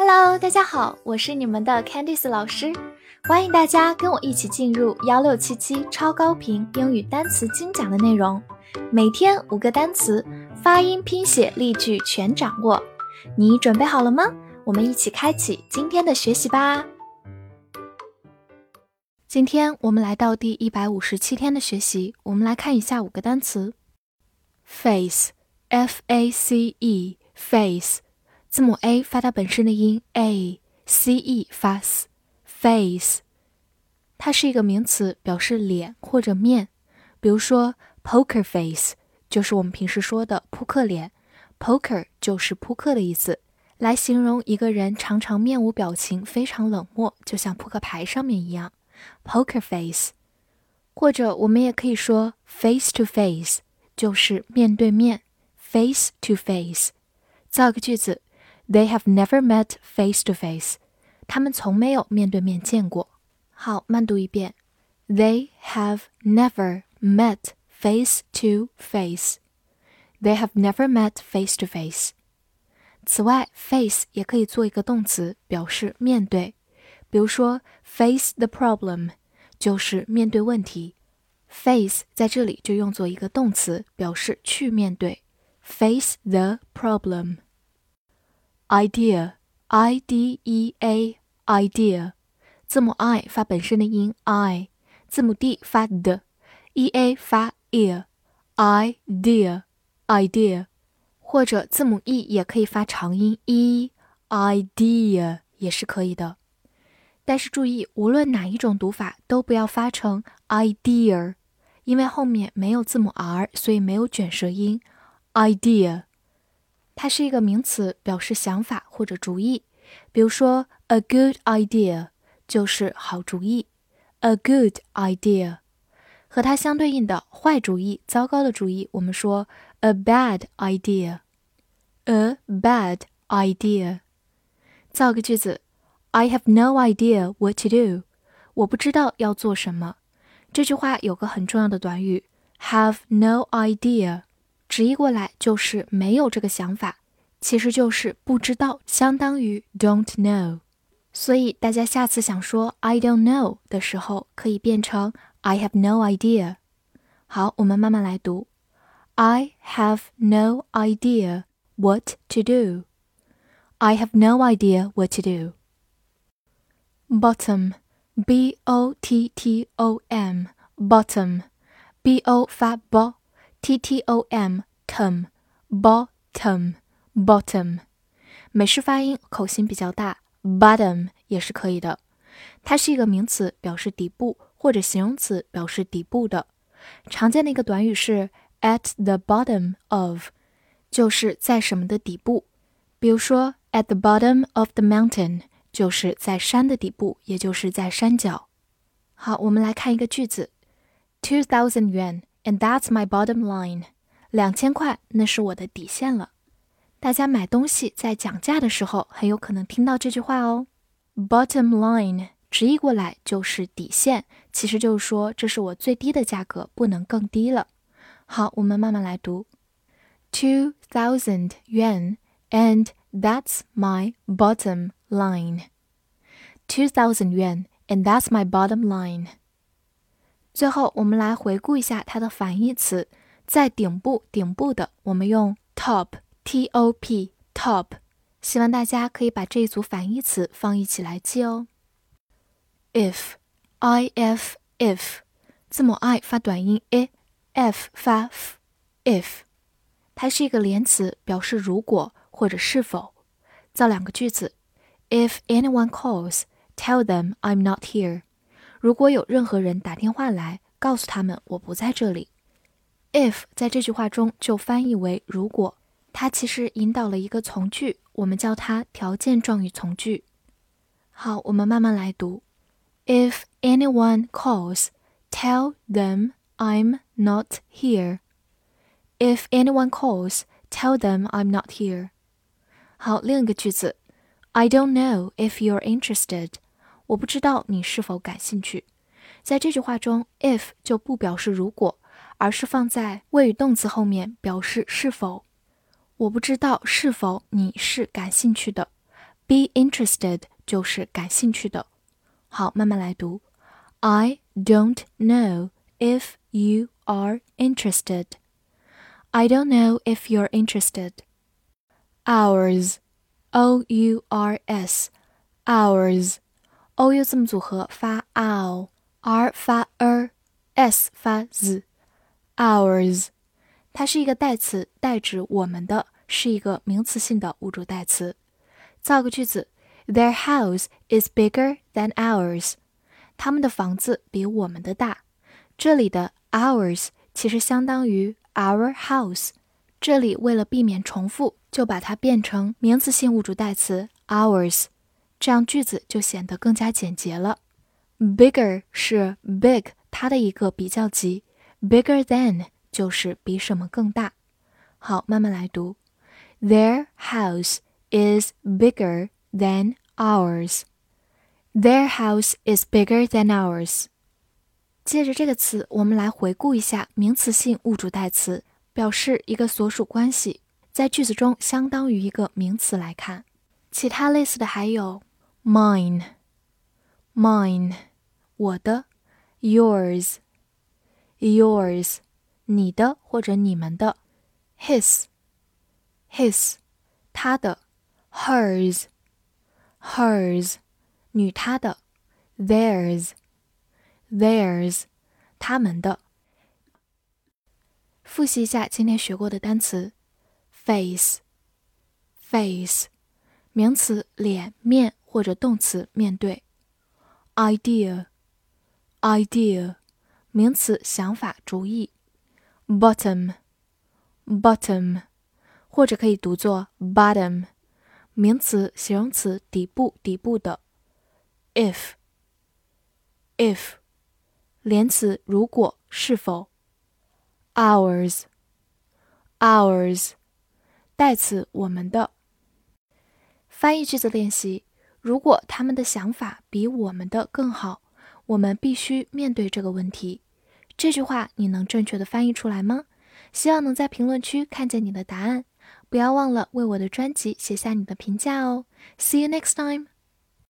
Hello， 大家好，我是你们的 Candice 老师，欢迎大家跟我一起进入1677超高频英语单词精讲的内容，每天5个单词，发音、拼写、例句全掌握。你准备好了吗？我们一起开启今天的学习吧。今天我们来到第157天的学习，我们来看一下5个单词。Face F-A-C-E Face， 字母 A 发它本身的音 A， C-E 发 S Face， 它是一个名词，表示脸或者面。比如说 Poker Face 就是我们平时说的扑克脸， Poker 就是扑克的意思，来形容一个人常常面无表情，非常冷漠，就像扑克牌上面一样Poker Face。 或者我们也可以说 Face to Face， 就是面对面 Face to Face。 造个句子 They have never met face to face， 他们从没有面对面见过。好，慢读一遍 They have never met face to face， They have never met face to face。 此外 face 也可以做一个动词，表示面对。比如说 face the problem 就是面对问题， face 在这里就用作一个动词，表示去面对 face the problem。 Idea I-D-E-A Idea， 字母 I 发本身的音 I， 字母 D 发 D， E-A 发 ear Idea Idea， 或者字母 E 也可以发长音 E Idea 也是可以的。但是注意，无论哪一种读法都不要发成 idea， 因为后面没有字母 R， 所以没有卷舌音 idea。 它是一个名词，表示想法或者主意。比如说 a good idea 就是好主意 a good idea。 和它相对应的坏主意、糟糕的主意，我们说 a bad idea a bad idea。 造个句子I have no idea what to do， 我不知道要做什么。这句话有个很重要的短语 have no idea， 直译过来就是没有这个想法，其实就是不知道，相当于 don't know。 所以大家下次想说 I don't know 的时候，可以变成 I have no idea。 好，我们慢慢来读 I have no idea what to do， I have no idea what to do。Bottom B-O-T-T-O-M Bottom B-O 发 B T-T-O-M Tom Bottom Bottom， 美式发音口型比较大 Bottom 也是可以的。它是一个名词，表示底部，或者形容词，表示底部的。常见的一个短语是 at the bottom of， 就是在什么的底部。比如说 at the bottom of the mountain，就是在山的底部，也就是在山脚。好，我们来看一个句子 2,000 yuan and that's my bottom line， 2000块，那是我的底线了。大家买东西在讲价的时候很有可能听到这句话哦。 Bottom line 直译过来就是底线，其实就是说这是我最低的价格，不能更低了。好，我们慢慢来读 2,000 yuan and that's my bottom line， 2,000 yuan and that's my bottom line。 最后我们来回顾一下它的反义词，在顶部的我们用 top T-O-P top， 希望大家可以把这一组反义词放一起来记哦。 If I-F if， 字母 I 发短音 I， F 发 F if， 它是一个连词，表示如果或者是否。造两个句子 If anyone calls, tell them I'm not here， 如果有任何人打电话来，告诉他们我不在这里。 If 在这句话中就翻译为如果，它其实引导了一个从句，我们叫它条件状语从句。好，我们慢慢来读 If anyone calls, tell them I'm not here。 If anyone calls, tell them I'm not here。 好，另一个句子 I don't know if you're interested， 我不知道你是否感兴趣。在这句话中 if 就不表示如果，而是放在谓语动词后面，表示是否。我不知道是否你是感兴趣的。 Be interested 就是感兴趣的。好，慢慢来读。I don't know if you are interested. I don't know if you're interested. Ours, O-U-R-S, ours. O-U 字母组合发 ow，R 发 s 发 z。Ours， 它是一个代词，代指我们的，是一个名词性的物主代词。造个句子 ：Their house is bigger than ours. 他们的房子比我们的大。这里的 ours 其实相当于 our house， 这里为了避免重复，就把它变成名词性物主代词 ours， 这样句子就显得更加简洁了。Bigger 是 big 它的一个比较级， bigger than 就是比什么更大。好，慢慢来读。Their house is bigger than ours. Their house is bigger than ours. 接着这个词，我们来回顾一下名词性物主代词，表示一个所属关系，在句子中相当于一个名词来看。其他类似的还有 mine, 我的 yours, 你的或者你们的 his, 他的 hers, 女他的 theirs, 他们的。复习一下今天学过的单词 face, 名词脸面或者动词面对。idea, 名词想法主意。bottom, 或者可以读作 bottom， 名词形容词底部的。if, 连词如果是否。ours, 代词我们的。翻译句子练习，如果他们的想法比我们的更好，我们必须面对这个问题。这句话你能正确的翻译出来吗？希望能在评论区看见你的答案。不要忘了为我的专辑写下你的评价哦。See you next time!